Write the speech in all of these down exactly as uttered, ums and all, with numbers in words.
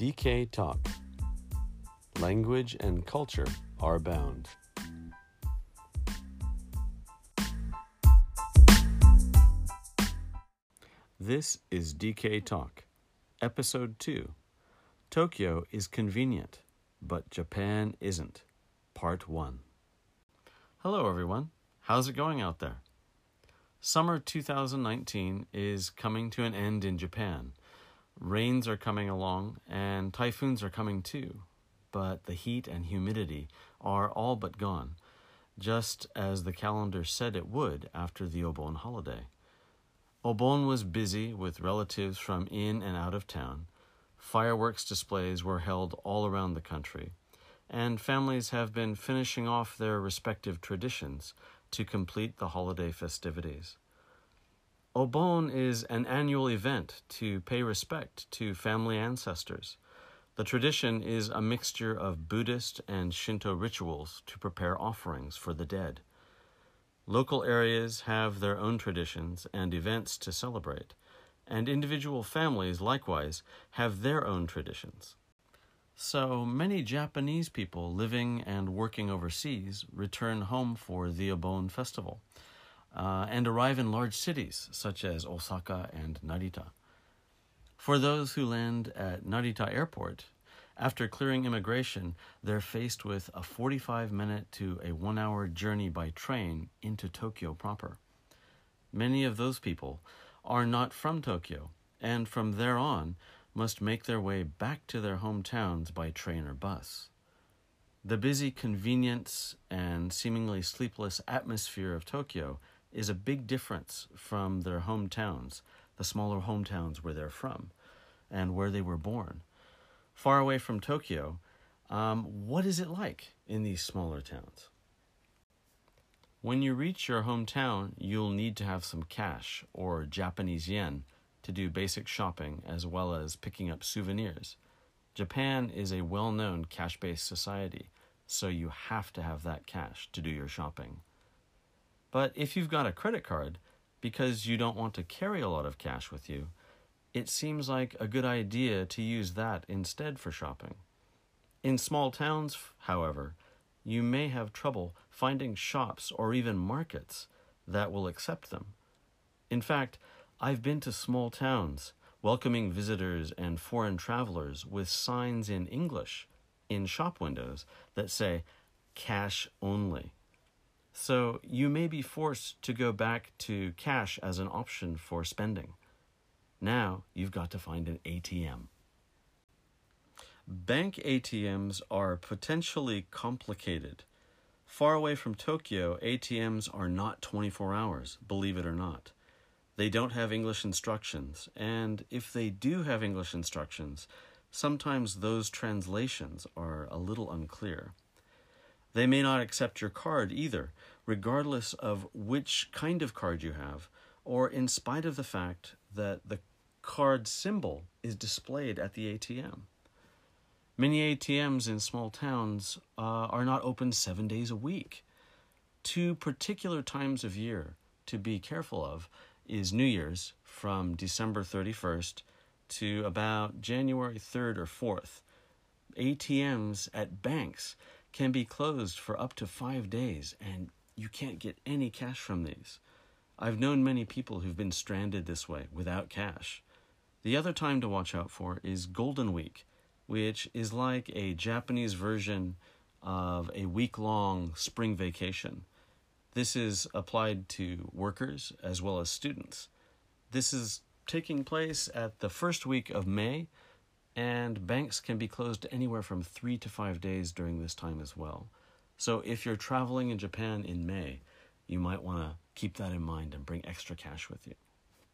D K Talk. Language and culture are bound. This is D K Talk, Episode two. Tokyo is convenient, but Japan isn't. Part one. Hello, everyone. How's it going out there? Summer two thousand nineteen is coming to an end in Japan. Rains are coming along, and typhoons are coming too. But the heat and humidity are all but gone, just as the calendar said it would after the Obon holiday. Obon was busy with relatives from in and out of town. Fireworks displays were held all around the country, and families have been finishing off their respective traditions to complete the holiday festivities. Obon is an annual event to pay respect to family ancestors. The tradition is a mixture of Buddhist and Shinto rituals to prepare offerings for the dead. Local areas have their own traditions and events to celebrate, and individual families likewise have their own traditions. So many Japanese people living and working overseas return home for the Obon festival uh, and arrive in large cities such as Osaka and Narita. For those who land at Narita Airport, after clearing immigration, they're faced with a forty-five minute to a one-hour journey by train into Tokyo proper. Many of those people are not from Tokyo, and from there on must make their way back to their hometowns by train or bus. The busy convenience and seemingly sleepless atmosphere of Tokyo is a big difference from their hometowns, the smaller hometowns where they're from and where they were born. Far away from Tokyo, um, what is it like in these smaller towns? When you reach your hometown, you'll need to have some cash or Japanese yen to do basic shopping as well as picking up souvenirs. Japan is a well-known cash-based society, so you have to have that cash to do your shopping. But if you've got a credit card, because you don't want to carry a lot of cash with you, it seems like a good idea to use that instead for shopping. In small towns, however, you may have trouble finding shops or even markets that will accept them. In fact, I've been to small towns welcoming visitors and foreign travelers with signs in English in shop windows that say, cash only. So you may be forced to go back to cash as an option for spending. Now you've got to find an A T M. Bank A T Ms are potentially complicated. Far away from Tokyo, A T Ms are not twenty-four hours, believe it or not. They don't have English instructions, and if they do have English instructions, sometimes those translations are a little unclear. They may not accept your card either, regardless of which kind of card you have, or in spite of the fact that the card symbol is displayed at the A T M. Many A T Ms in small towns uh, are not open seven days a week. Two particular times of year to be careful of is New Year's from December thirty-first to about January third or fourth. A T Ms at banks can be closed for up to five days, and you can't get any cash from these. I've known many people who've been stranded this way without cash. The other time to watch out for is Golden Week, which is like a Japanese version of a week-long spring vacation. This is applied to workers as well as students. This is taking place at the first week of May, and banks can be closed anywhere from three to five days during this time as well. So if you're traveling in Japan in May, you might want to keep that in mind and bring extra cash with you.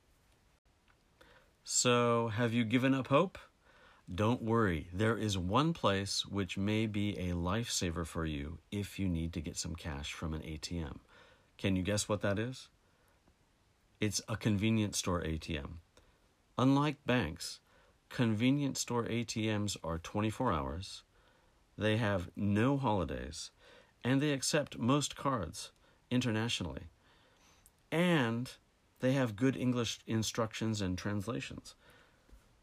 So, have you given up hope? Don't worry, there is one place which may be a lifesaver for you if you need to get some cash from an A T M. Can you guess what that is? It's a convenience store A T M. Unlike banks, convenience store A T Ms are twenty-four hours, they have no holidays, and they accept most cards internationally. And they have good English instructions and translations.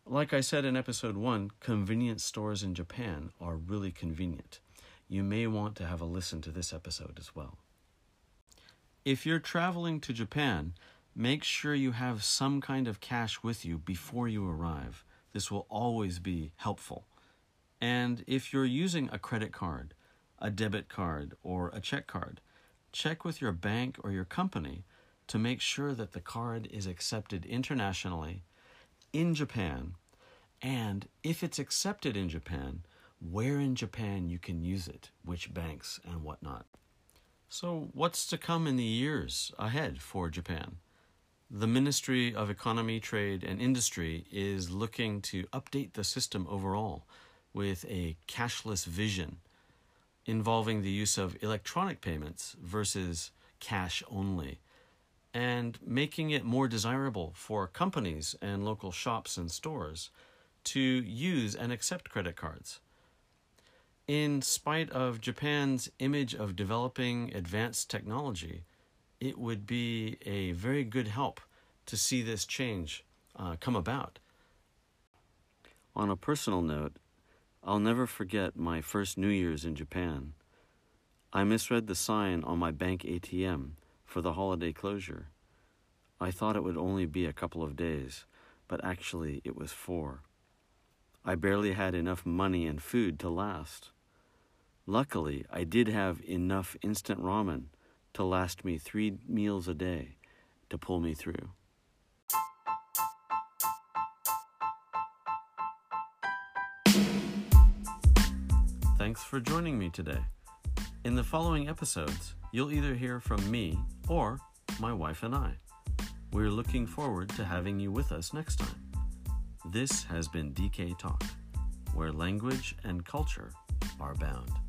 Like I said in episode one, convenience stores in Japan are really convenient. You may want to have a listen to this episode as well. If you're traveling to Japan, make sure you have some kind of cash with you before you arrive. This will always be helpful. And if you're using a credit card, a debit card, or a check card, check with your bank or your company to make sure that the card is accepted internationally in Japan, and if it's accepted in Japan, where in Japan you can use it, which banks and whatnot. So what's to come in the years ahead for Japan? The Ministry of Economy, Trade, and Industry is looking to update the system overall with a cashless vision involving the use of electronic payments versus cash only, and making it more desirable for companies and local shops and stores to use and accept credit cards. In spite of Japan's image of developing advanced technology, it would be a very good help to see this change uh, come about. On a personal note, I'll never forget my first New Year's in Japan. I misread the sign on my bank A T M for the holiday closure. I thought it would only be a couple of days, but actually it was four. I barely had enough money and food to last. Luckily, I did have enough instant ramen to last me three meals a day to pull me through. Thanks for joining me today. In the following episodes, you'll either hear from me or my wife and I. We're looking forward to having you with us next time. This has been D K Talk, where language and culture are bound.